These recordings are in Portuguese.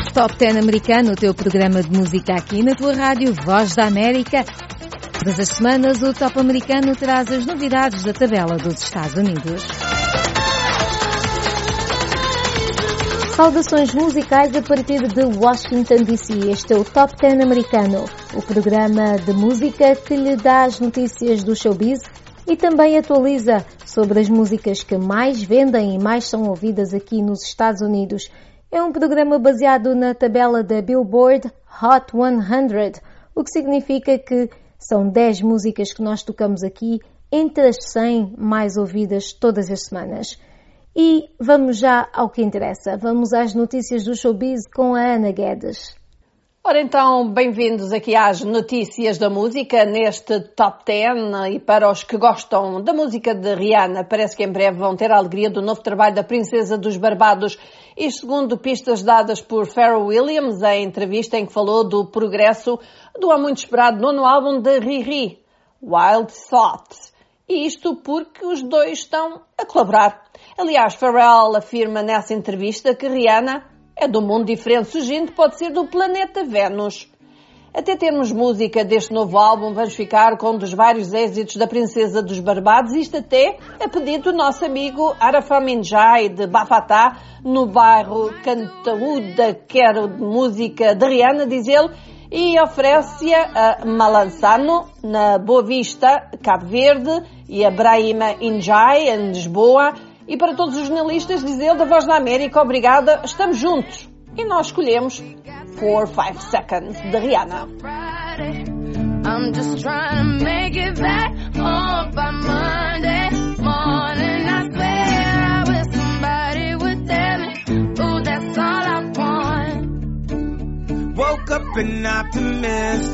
Top 10 americano, o teu programa de música aqui na tua rádio Voz da América. Todas as semanas o Top americano traz as novidades da tabela dos Estados Unidos. Saudações musicais a partir de Washington DC. Este é o Top 10 americano, o programa de música que lhe dá as notícias do showbiz e também atualiza sobre as músicas que mais vendem e mais são ouvidas aqui nos Estados Unidos. É um programa baseado na tabela da Billboard Hot 100, o que significa que são 10 músicas que nós tocamos aqui entre as 100 mais ouvidas todas as semanas. E vamos já ao que interessa. Vamos às notícias do showbiz com a Ana Guedes. Ora então, bem-vindos aqui às notícias da música neste Top 10 e para os que gostam da música de Rihanna, parece que em breve vão ter a alegria do novo trabalho da Princesa dos Barbados. E segundo pistas dadas por Pharrell Williams, em entrevista em que falou do progresso do há muito esperado nono álbum de Riri, Wild Thoughts. E isto porque os dois estão a colaborar. Aliás, Pharrell afirma nessa entrevista que Rihanna é de um mundo diferente, surgindo pode ser do planeta Vênus. Até termos música deste novo álbum, vamos ficar com um dos vários êxitos da Princesa dos Barbados, isto até a pedido do nosso amigo Arafat Minjai, de Bafatá, no bairro Cantaúda, quero música de Rihanna, diz ele, e oferece-a a Malançano, na Boa Vista, Cabo Verde, e a Brahima Injai, em Lisboa. E para todos os jornalistas, diz ele, da Voz da América, obrigada, estamos juntos. E nós escolhemos 4-5 Seconds, de Rihanna. I'm just trying to make it back home by Monday morning. I swear I wish somebody would tell me, ooh, that's all I want. Woke up an optimist.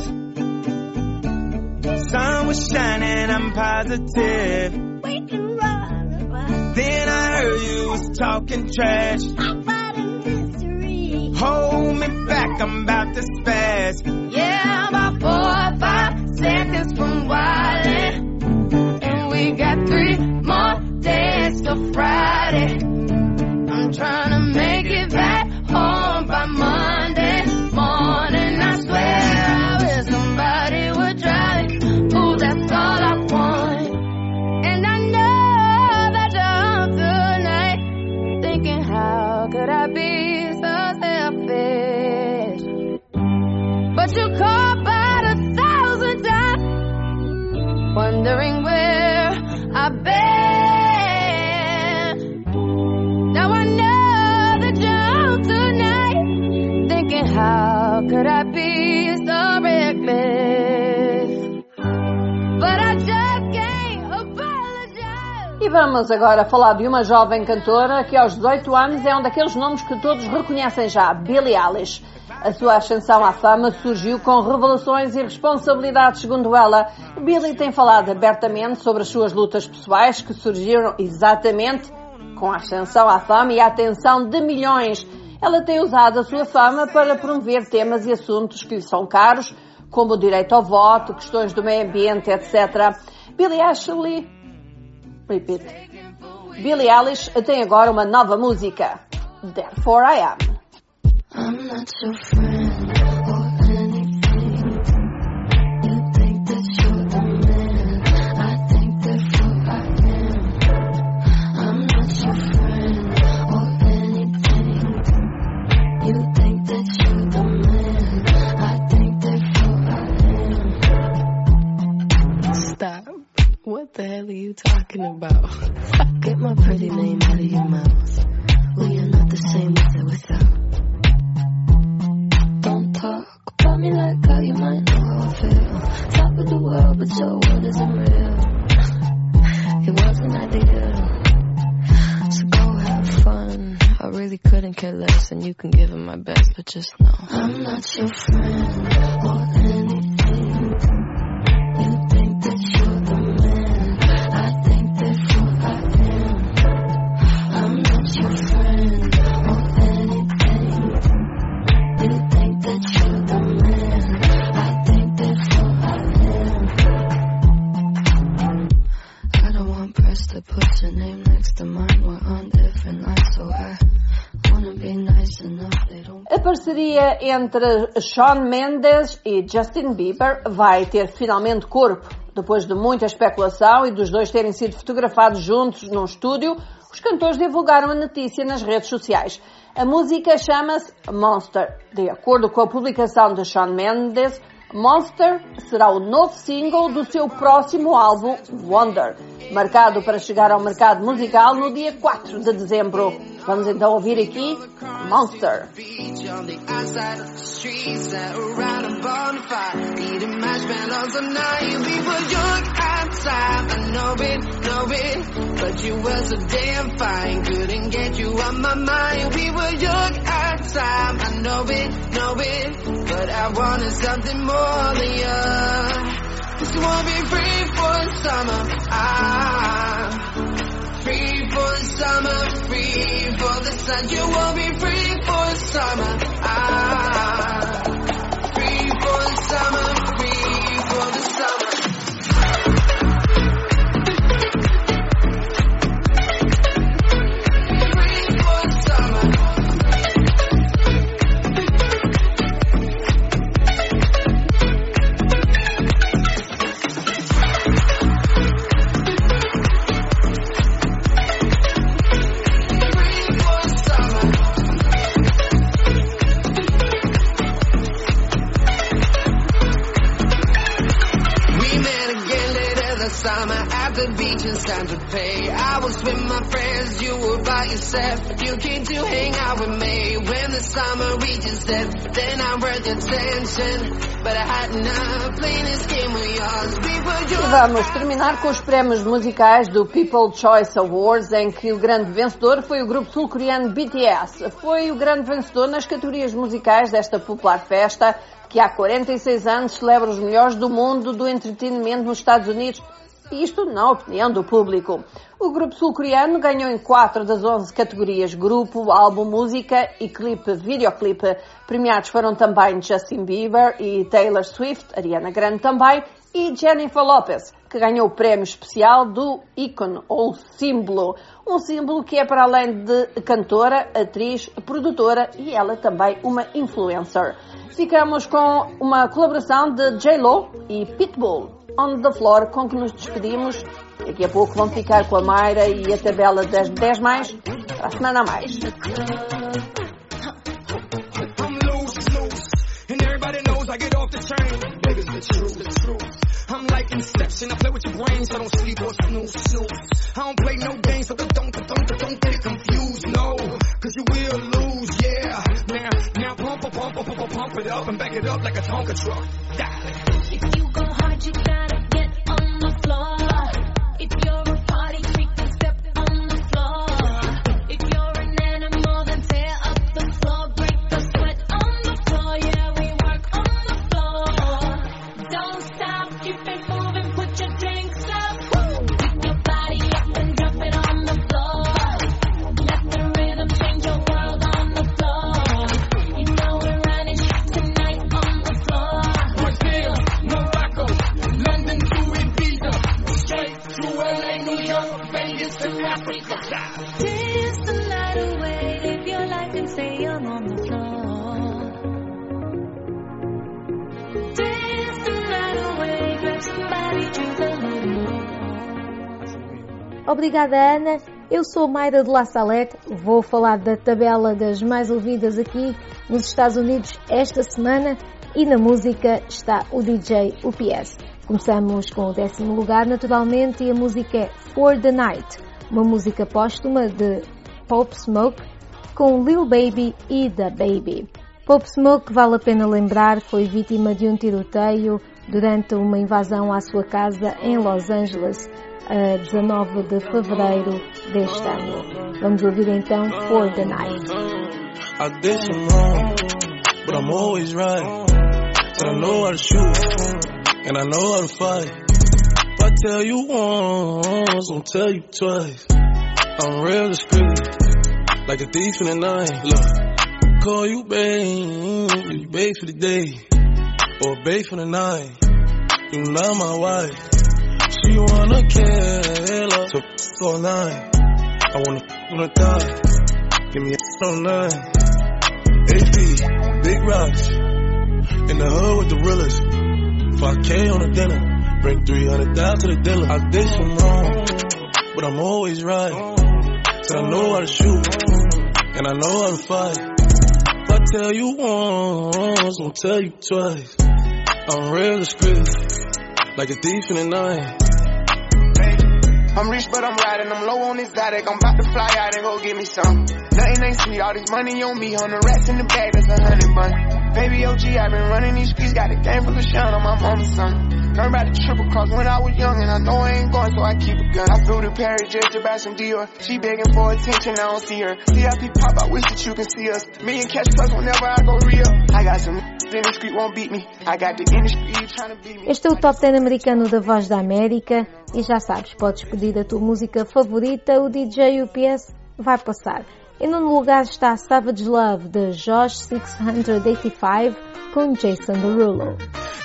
Sun was shining, I'm positive. We can run. Then I heard you was talking trash. I'm fighting history. Hold me back, I'm about to spaz. Yeah, I'm about 4 or 5 seconds from wildin'. And we got 3 more days till Friday. I'm trying to make it back home by Monday morning. I swear I wish somebody would drive me. Ooh, that's all I want. And I know that you're tonight thinking, how could I be so selfish? But you called about 1,000 times, wondering where I've been. Now I know that you're tonight thinking, how could I be so reckless? But I just can't apologize. E vamos agora falar de uma jovem cantora que aos 18 anos é um daqueles nomes que todos reconhecem já, Billie Eilish. A sua ascensão à fama surgiu com revelações e responsabilidades, segundo ela. Billie tem falado abertamente sobre as suas lutas pessoais que surgiram exatamente com a ascensão à fama e a atenção de milhões. Ela tem usado a sua fama para promover temas e assuntos que lhe são caros, como o direito ao voto, questões do meio ambiente, etc. Billie Eilish tem agora uma nova música, Therefore I Am. I'm not your friend or anything. You think that you're the man. I think therefore I am. I'm not your friend or anything. You think that you're the man. I think therefore I am. Stop. What the hell are you talking about? Get my pretty name out of your mouth. We are not the same with or without. Don't talk about me like how you might know how I feel. Top of the world, but your world isn't real. It wasn't ideal. So go have fun. I really couldn't care less, and you can give it my best, but just know I'm not your friend or anything. You think that you're the man. I think therefore I am. I'm not your friend or anything. You think that you're the man. I think therefore I am. I don't want press to put your name next to mine. We're on different lines, so I wanna be nice enough. They don't parceria entre Shawn Mendes e Justin Bieber vai ter finalmente corpo. Depois de muita especulação e dos dois terem sido fotografados juntos num estúdio, os cantores divulgaram a notícia nas redes sociais. A música chama-se Monster. De acordo com a publicação de Shawn Mendes, Monster será o novo single do seu próximo álbum, Wonder, marcado para chegar ao mercado musical no dia 4 de dezembro. Vamos então ouvir aqui Monster. But you were so damn fine, couldn't get you on my mind. We were young at the time, I know it, but I wanted something more than you. Just wanna be free for the summer, free for the summer, free for the sun. You won't be free for the summer, free for the summer, free for the summer. The beach in Santa Fe, I was with my friends, you were by yourself. You came to hang out with me when the summer reaches death. Then I read your attention, but I had enough playing this game with yours. We were yours. E vamos terminar com os prémios musicais do People Choice Awards, em que o grande vencedor foi o grupo sul-coreano BTS. Foi o grande vencedor nas categorias musicais desta popular festa, que há 46 anos celebra os melhores do mundo do entretenimento nos Estados Unidos. Isto na opinião do público. O grupo sul-coreano ganhou em 4 das 11 categorias: grupo, álbum, música e videoclipe. Premiados foram também Justin Bieber e Taylor Swift, Ariana Grande também, e Jennifer Lopez, que ganhou o prémio especial do ícone, ou símbolo. Um símbolo que é para além de cantora, atriz, produtora e ela também uma influencer. Ficamos com uma colaboração de J-Lo e Pitbull, On The Floor, com que nos despedimos. Daqui a pouco vão ficar com a Mayra e a tabela das 10 mais para a semana a mais. I'm like Inception, I play with your brain, so don't sleep or snooze. I don't play no games, so don't get confused, no, cause you will lose, yeah. Now pump it up and back it up like a Tonka truck. If you go hard, you gotta get on the floor. If you're a party freak, then step on the floor. If you're an animal, then tear up the floor. Break the sweat on the floor, yeah, we work on the floor. Don't stop, keep it moving, put your drinks up. Pick your body up and drop it on the floor. Let the rhythm change your world on the floor. You know we're running shit tonight on the floor. Brazil, Morocco, London to Ibiza, straight to LA, New York, Vegas to Africa. Dance the night away, live your life and say I'm on the floor. Dance the night away, grab somebody to the hood. Obrigada, Ana. Eu sou Mayra de La Salette. Vou falar da tabela das mais ouvidas aqui nos Estados Unidos esta semana, e na música está o DJ UPS. Começamos com o 10º lugar, naturalmente, e a música é For The Night, uma música póstuma de Pop Smoke com Lil Baby e Da Baby. Pop Smoke, vale a pena lembrar, foi vítima de um tiroteio durante uma invasão à sua casa em Los Angeles, a 19 de fevereiro deste ano. Vamos ouvir então For The Night. I did some wrong, but I'm always right. And I know how to shoot, and I know how to fight. If I tell you once, I'll tell you twice. I'm real discreet, like a thief in the night. Look, call you babe, you babe for the day, or babe for the night. You not my wife. She wanna kill her, so all night. I wanna die, give me a all night. AP. big rocks. In the hood with the realest. 5K on the dinner. Bring 300 down to the dealer. I did some wrong, but I'm always right. Said I know how to shoot, and I know how to fight. If I tell you once, I'll tell you twice. I'm real discreet, like a thief in the night. I'm rich, but I'm riding. I'm low on exotic. I'm about to fly out and go get me some. Nothing ain't sweet. All this money on me. 100 rats in the bag. That's 100 bun. Baby OG, I've been running these streets. Got a game full of shine on my mama's son. Learned about the triple cross when I was young, and I know I ain't going, so I keep a gun. I flew to Paris just to buy some Dior. She begging for attention, I don't see her. CIP pop, I wish that you can see us. Me and Cash Plus whenever I go real. I got some in the street, won't beat me. I got the industry trying to beat me. Este é o Top 10 americano da Voz da América e já sabes, podes pedir a tua música favorita, o DJ UPS vai passar. Em nono lugar está Savage Love, de Josh 685, com Jason Derulo.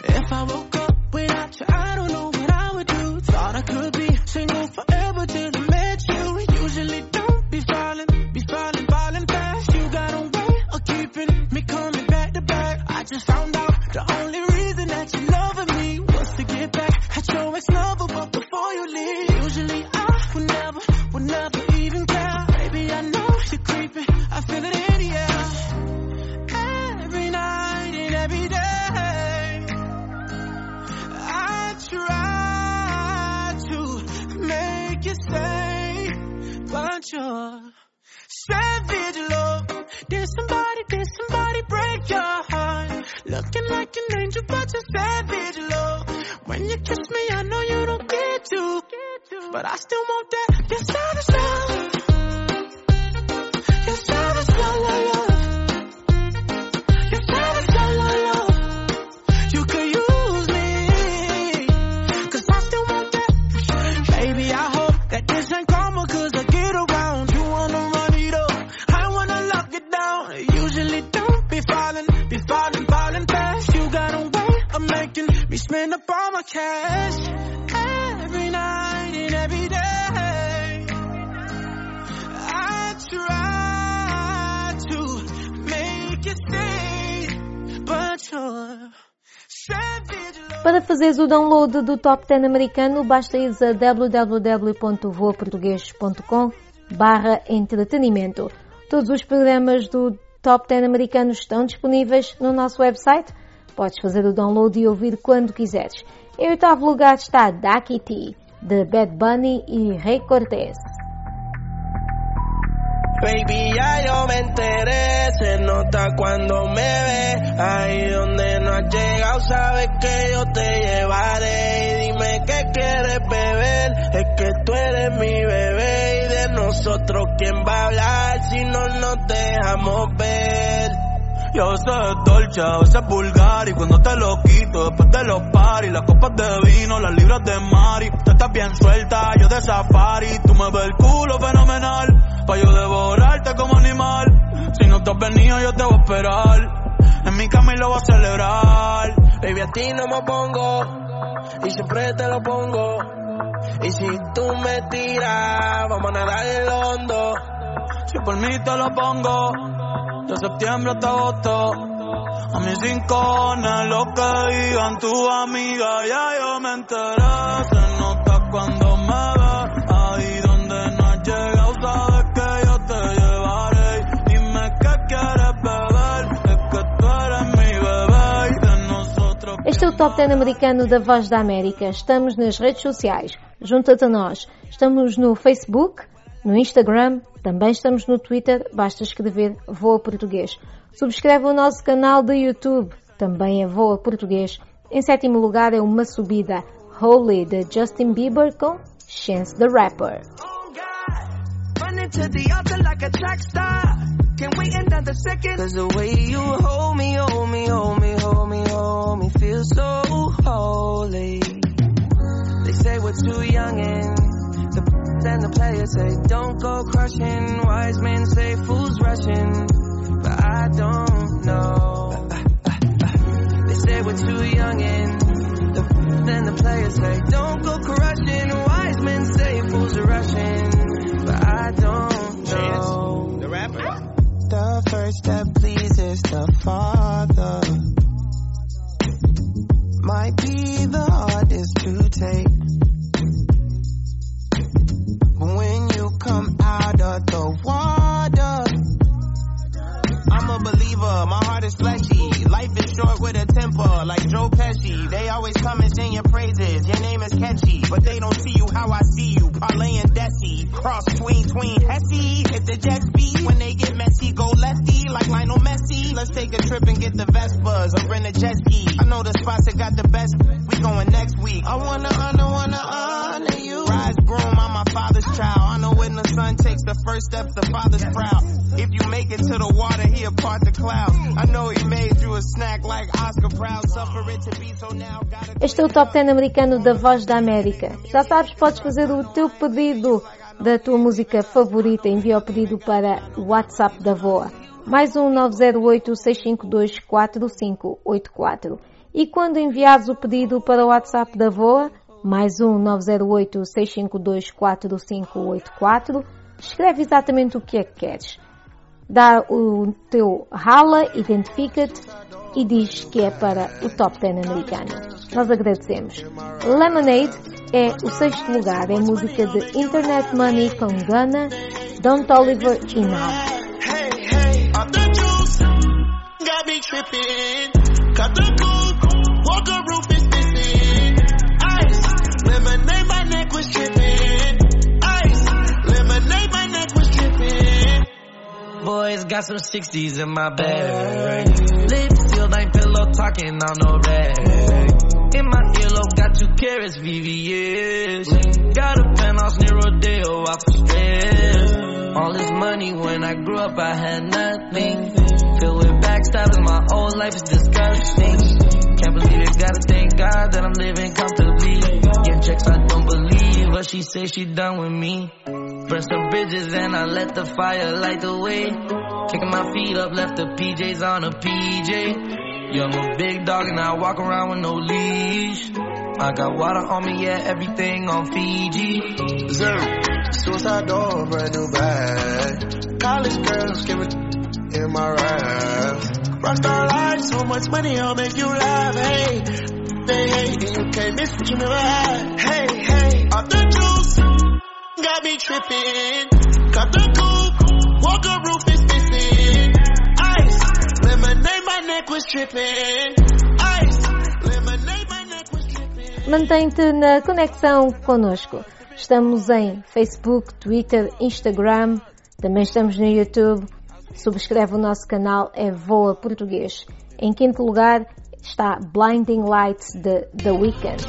I don't know what I would do. Thought I could be single forever till I met you. Usually don't be falling fast. You got a way of keeping me coming back to back. I just found out the only reason that you loving me was to get back at your ex-lover, but before you leave, usually I would never even care. Baby, I know you're creeping. I feel it in the air. Every night and every day. Try to make you stay, but you're savage love. Did somebody break your heart? Looking like an angel, but you're savage love. When you kiss me, I know you don't get to, but I still want that. You're savage love. You're savage love, love, love. You're savage love, love, love. You could use that this ain't karma, cause I get around. You wanna run it up, I wanna lock it down. Usually don't be falling fast. You got a way of making me spend up all my cash. Every night and every day, I try to make it stay, but you're Para fazeres o download do Top 10 americano, basta ir a www.voaportugues.com/entretenimento. Todos os programas do Top 10 americano estão disponíveis no nosso website. Podes fazer o download e ouvir quando quiseres. Em oitavo lugar está Ducky T, de Bad Bunny e Rey Cortez. Baby, ya yo me enteré, se nota cuando me ves. Ahí donde no has llegado, sabes que yo te llevaré. Y dime qué quieres beber, es que tú eres mi bebé. Y de nosotros, ¿quién va a hablar si no nos dejamos ver? Yo a veces es dolce, a veces es vulgar. Y cuando te lo quito, después de los paris, las copas de vino, las libras de mari. Tú estás bien suelta, yo de safari. Tú me ves el culo fenomenal, pa' yo devorarte como animal. Si no te has venido, yo te voy a esperar. En mi cama y lo voy a celebrar. Baby, a ti no me opongo, y siempre te lo pongo. Y si tú me tiras, vamos a nadar en lo hondo. Si por mí te lo pongo, de septiembre hasta agosto. A mis rincones, lo que digan tu amiga, ya yo me enteré. Se nota cuando me ves, ahí donde no has llegado, sabes que yo te llevaré. Dime qué quieres beber, es que tú eres mi bebé y de nosotros. Este é o Top 10 americano da Voz da América. Estamos nas redes sociais. Junta-te a nós. Estamos no Facebook, no Instagram, também estamos no Twitter, basta escrever Voa Português. Subscreve o nosso canal do YouTube, também é Voa Português. Em sétimo lugar é uma subida, Holy, de Justin Bieber com Chance the Rapper. And the players say don't go crushing. Wise men say fools rushing, but I don't know. They say we're too young and then the players say don't go crushing. Wise men say fools are rushing, but I don't know. The rapper. The first step pleases the Father. under the water. I'm a believer, my heart is fleshy. Life is short with a temper, like Joe Pesci. They always come and sing your praises, your name is catchy. But they don't see you how I see you, parlay and Desi. Cross tween, Hesse. Hit the jet speed, when they get messy, go lefty, like Lionel Messi. Let's take a trip and get the Vespas, or rent a jet ski. I know the spots that got the best, we going next week. I wanna honor you. Rise broom, I'm my father's child. I know when the son takes the first step, the father's proud. If you make it to the water, he'll part the clouds. I know he made you a snack like Oscar Proud. Suffer it to be so now. Este é o Top 10 americano da Voz da América. Já sabes, podes fazer o teu pedido da tua música favorita. Envia o pedido para o WhatsApp da VOA. Mais 908-652-4584. E quando enviares o pedido para o WhatsApp da VOA, mais 908-652-4584, escreve exatamente o que é que queres. Dá o teu rala, identifica-te e diz que é para o Top 10 americano. Nós agradecemos. Lemonade é o 6º lugar. É música de Internet Money com Gunna, Don Toliver e Now. Got me tripping, cut the coupe, walker roof is missing. Ice, lemonade, my neck was tripping. Ice, lemonade, my neck was tripping. Boys got some 60s in my bag. Lips sealed, ain't pillow talking on no rag. In my earlobe, got 2 carats, VVS. Got a penthouse near Rodeo, off the stress. All this money, when I grew up, I had nothing. Filled with backstabbing, my whole life is disgusting. Can't believe it, gotta thank God that I'm living comfortably. Get checks, I don't believe, but she say she done with me. Burn some bridges and I let the fire light the way. Kicking my feet up, left the PJs on a PJ. Yeah, I'm a big dog and I walk around with no leash. I got water on me, yeah, everything on Fiji. Zero, suicide door, brand new bag. College girls give it in my raps. Rockstar life, so much money, I'll make you laugh. Hey, they hate and you can't miss what you never had. Hey, off the juice, got me tripping. Cut the coupe, walker roof is missing. Ice, lemonade, my neck was tripping. Ice, lemonade, my neck was tripping. Mantém-te na conexão connosco. Estamos em Facebook, Twitter, Instagram. Também estamos no YouTube. Subscreve o nosso canal, é VOA Português. Em 5º lugar está Blinding Lights de The Weeknd.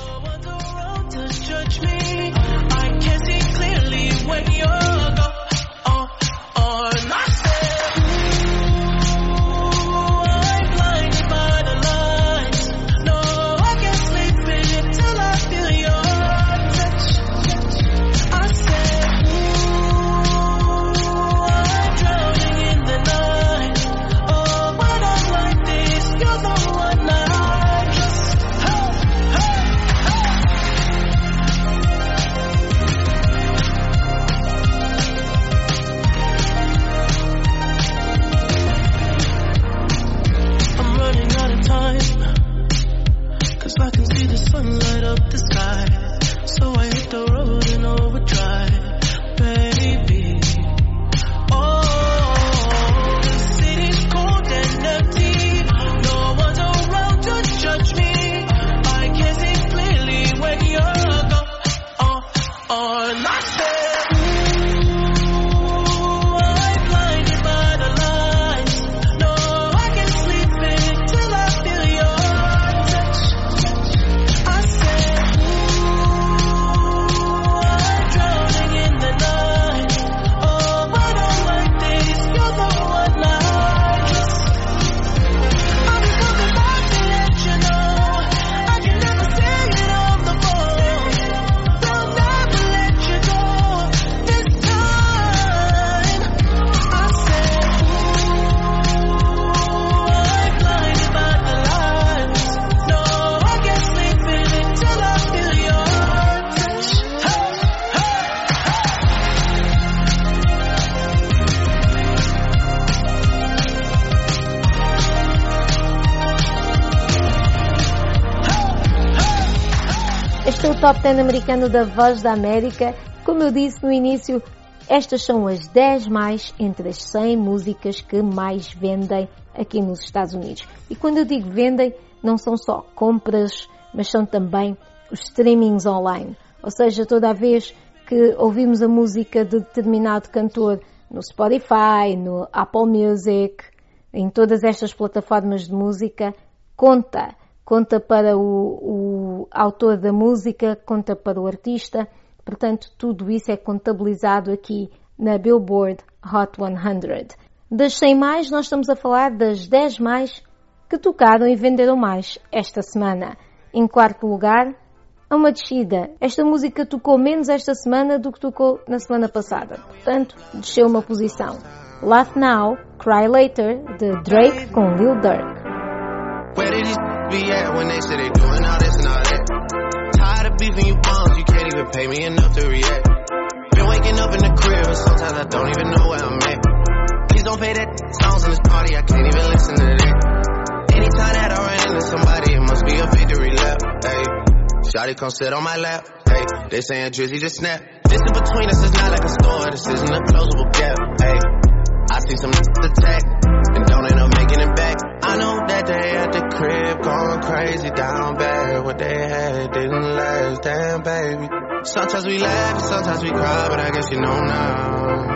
Este é o Top 10 americano da Voz da América. Como eu disse no início, estas são as 10 mais entre as 100 músicas que mais vendem aqui nos Estados Unidos. E quando eu digo vendem, não são só compras, mas são também os streamings online. Ou seja, toda a vez que ouvimos a música de determinado cantor no Spotify, no Apple Music, em todas estas plataformas de música, conta para o autor da música, conta para o artista. Portanto, tudo isso é contabilizado aqui na Billboard Hot 100. Das 100 mais, nós estamos a falar das 10 mais que tocaram e venderam mais esta semana. Em quarto lugar, uma descida. Esta música tocou menos esta semana do que tocou na semana passada. Portanto, desceu uma posição. Laugh Now, Cry Later, de Drake com Lil Durk. Where did these be at when they say they doing all this and all that? Tired of beefing you bums, you can't even pay me enough to react. Been waking up in the crib and sometimes I don't even know where I'm at. Please don't pay that songs in this party, I can't even listen to that. Anytime that I run into somebody, it must be a victory lap. Hey, shawty come sit on my lap. Hey, they saying Drizzy just snap. This in between us is not like a store, this isn't a closable gap. Hey, I see some attack and don't end up making it back. I know that they at the crib going crazy down bad. What they had didn't last, damn baby. Sometimes we laugh and sometimes we cry, but I guess you know now,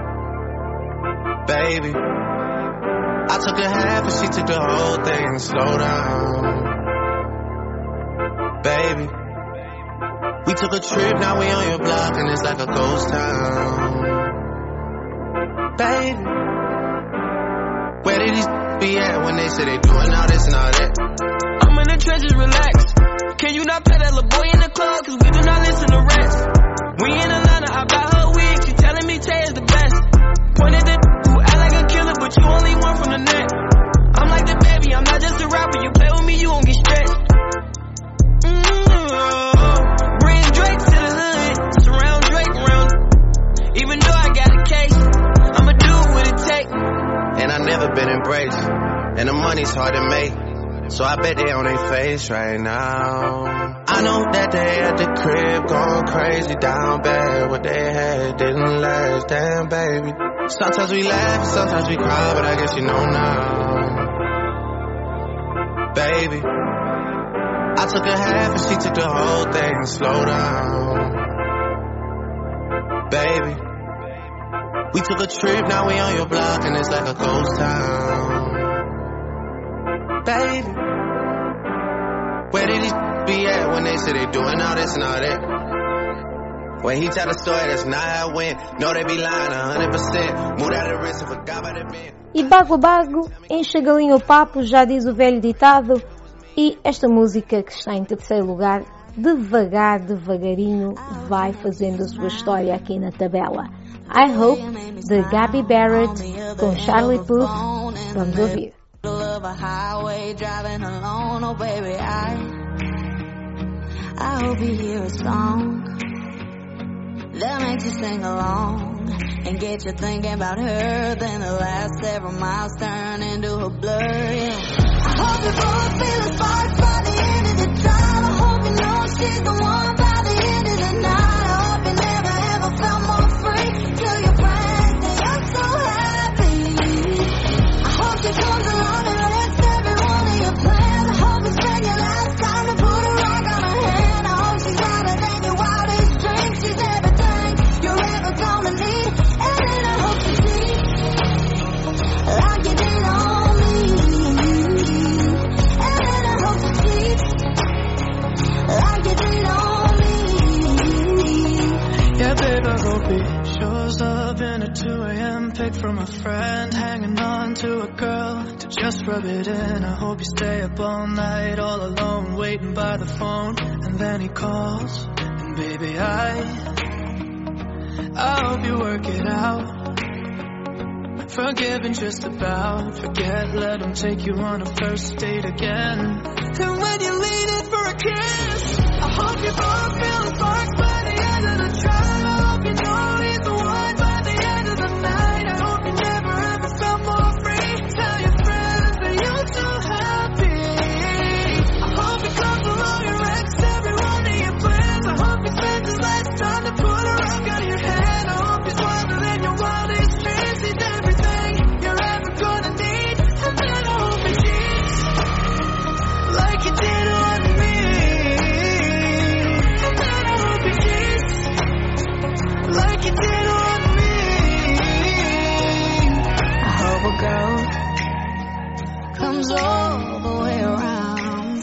baby. I took a half and she took the whole thing. Slow down, baby. We took a trip, now we on your block and it's like a ghost town, baby. Where did these be at when they say they doing all this and all that? I'm in the trenches, relax. Can you not play that little boy in the club? Cause we do not listen to rats. We in Atlanta, I buy her wig. She telling me Tay is the best. Pointed at who act like a killer, but you only one from the net. I'm like the baby, I'm not just a rapper. You play with me, you won't get stretched. Bring Drake to the hood. Surround Drake around. Even though I got a case, I'ma do what it takes. And I never been embraced, and the money's hard to make, so I bet they on their face right now. I know that they at the crib going crazy down bad. What they had didn't last, damn baby. Sometimes we laugh, sometimes we cry, but I guess you know now, baby. I took a half and she took the whole thing. Slow down, baby. We took a trip, now we on your block and it's like a ghost town, baby. Where did these be at when they say they doing all this and all that? When he tell the story, that's not how it went. No, they be lying 100%. Moved out of the risk and forgot about the bend. E bago a bago, enche galinha o papo, já diz o velho ditado. E esta música que está em terceiro lugar, devagarinho, vai fazendo a sua história aqui na tabela. I Hope, de Gabby Barrett, com Charlie Puth. Vamos ouvir. I hope you hear a song that makes you sing along and get you thinking about her. Then the last several miles turn into a blur. Yeah. I hope you both feel a spark by the end of the drive. I hope you know she's the one by the end of the night. I hope you never ever felt more free. Tell your friends that you're so happy. I hope she comes along and lets every one of your plans. I hope you spend your last time to put a rock on her hand. I hope she's louder than your wildest dreams. She's everything you're ever gonna need. And then I hope you see like you did on me. And then I hope you see like you did on me. Yeah, babe, I hope he shows up in at 2 a.m. Pick from a friend, hanging on to a girl to just rub it in. I hope you stay up all night, all alone, waiting by the phone. And then he calls, and baby, I hope you work it out. Forgive and just about forget, let him take you on a first date again. And when you lean in for a kiss, I hope you both feel the sparks by the end of the drive. I hope you know he's the one by the end of the night. I hope you never ever felt more free. Tell your friends that you're so happy. I hope he comes along and wrecks every one of your plans. I hope he spends his last time to put a rock on your head. I hope he's one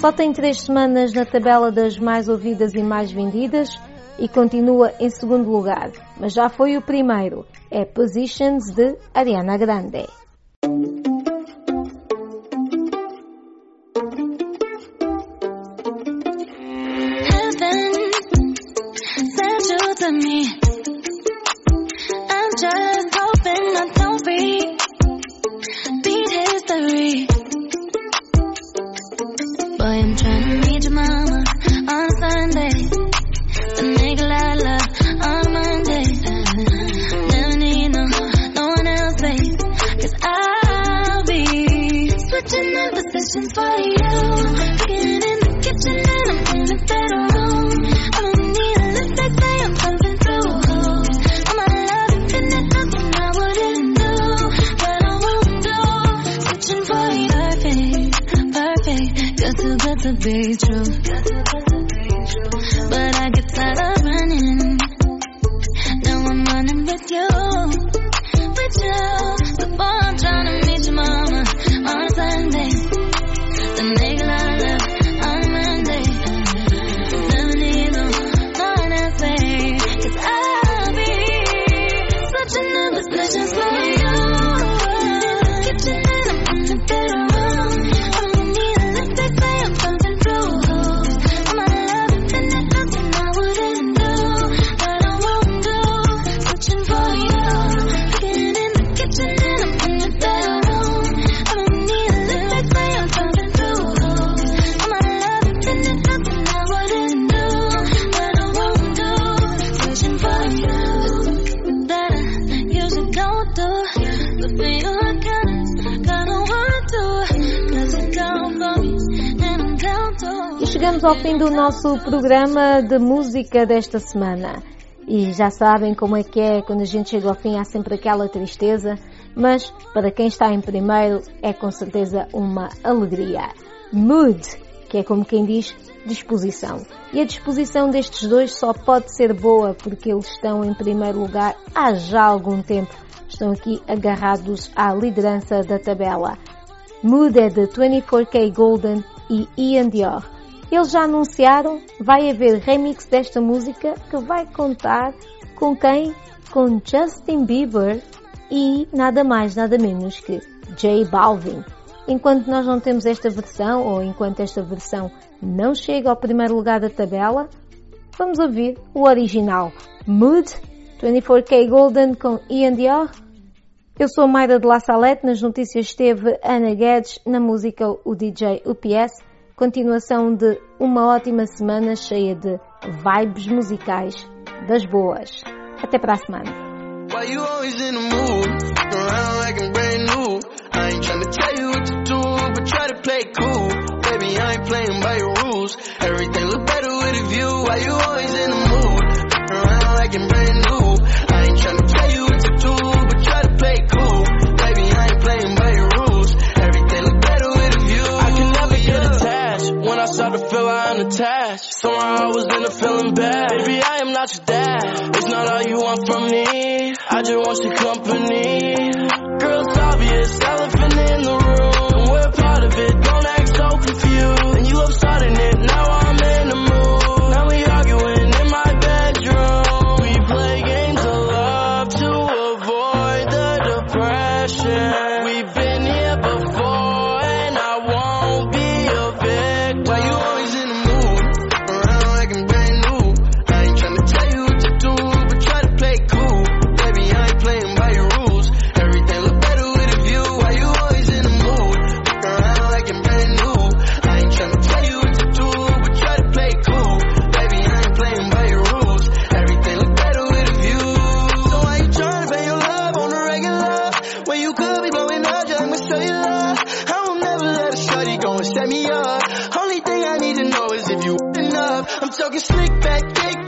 Só tem 3 semanas na tabela das mais ouvidas e mais vendidas e continua em segundo lugar, mas já foi o primeiro. É Positions de Ariana Grande. To be true, but I get tired of running. Now I'm running with you. So boy, I'm trying to meet your mama on Sunday, then make a lot of love on Monday. Never need no one else, babe, 'cause I'll be switching up positions for you. In the kitchen and I'm in the bedroom. Chegamos ao fim do nosso programa de música desta semana e já sabem como é que é, quando a gente chega ao fim há sempre aquela tristeza, mas para quem está em primeiro é com certeza uma alegria. Mood, que é como quem diz disposição, e a disposição destes dois só pode ser boa porque eles estão em primeiro lugar há já algum tempo, estão aqui agarrados à liderança da tabela. Mood é de 24kGoldn e Ian Dior. Eles já anunciaram, vai haver remix desta música que vai contar com quem? Com Justin Bieber e nada mais, nada menos que J Balvin. Enquanto nós não temos esta versão, ou enquanto esta versão não chega ao primeiro lugar da tabela, vamos ouvir o original. Mood, 24kGoldn com Ian Dior. Eu sou a Mayra de La Salette, nas notícias esteve Ana Guedes, na música o DJ UPS. Continuação de uma ótima semana cheia de vibes musicais das boas. Até para a semana. Why you always in the mood? Around like I'm brand new. I ain't tryna tell you what to do, but try to play cool. Baby, I ain't playing by your rules. Everything look better with a view. Why you always in the mood? Around like I'm brand new. I ain't tryna tell you what to do, but try to play cool. Baby, I ain't playing by your rules. Everything look better with a view. I can never get attached. When I start to feel I'm unattached, somehow I was in a feeling bad. Baby, I am not your dad. It's not all you want from me. I just want your company. Girl, it's obvious, elephant in the room. We're part of it, don't act so confused. And you love starting it, now I'm in the mood. Now we arguing in my bedroom. We play games of love to avoid the depression. We've been here before and I won't be a victim. Why you always in the mood? Around like I'm brand new. I ain't tryna tell you what to do, but try to play cool. Baby, I ain't playing by your rules. Everything look better with a view. Why you always in the mood? Around like I'm brand new. I ain't tryna tell you what to do, but try to play cool. Baby, I ain't playing by your rules. Everything look better with a view. So why you tryna pay your love on the regular? When you could be blowing up, just I'ma show you love. I will never let a shorty go and set me up. Only thing I need to know is if you enough. I'm talking slick back, kick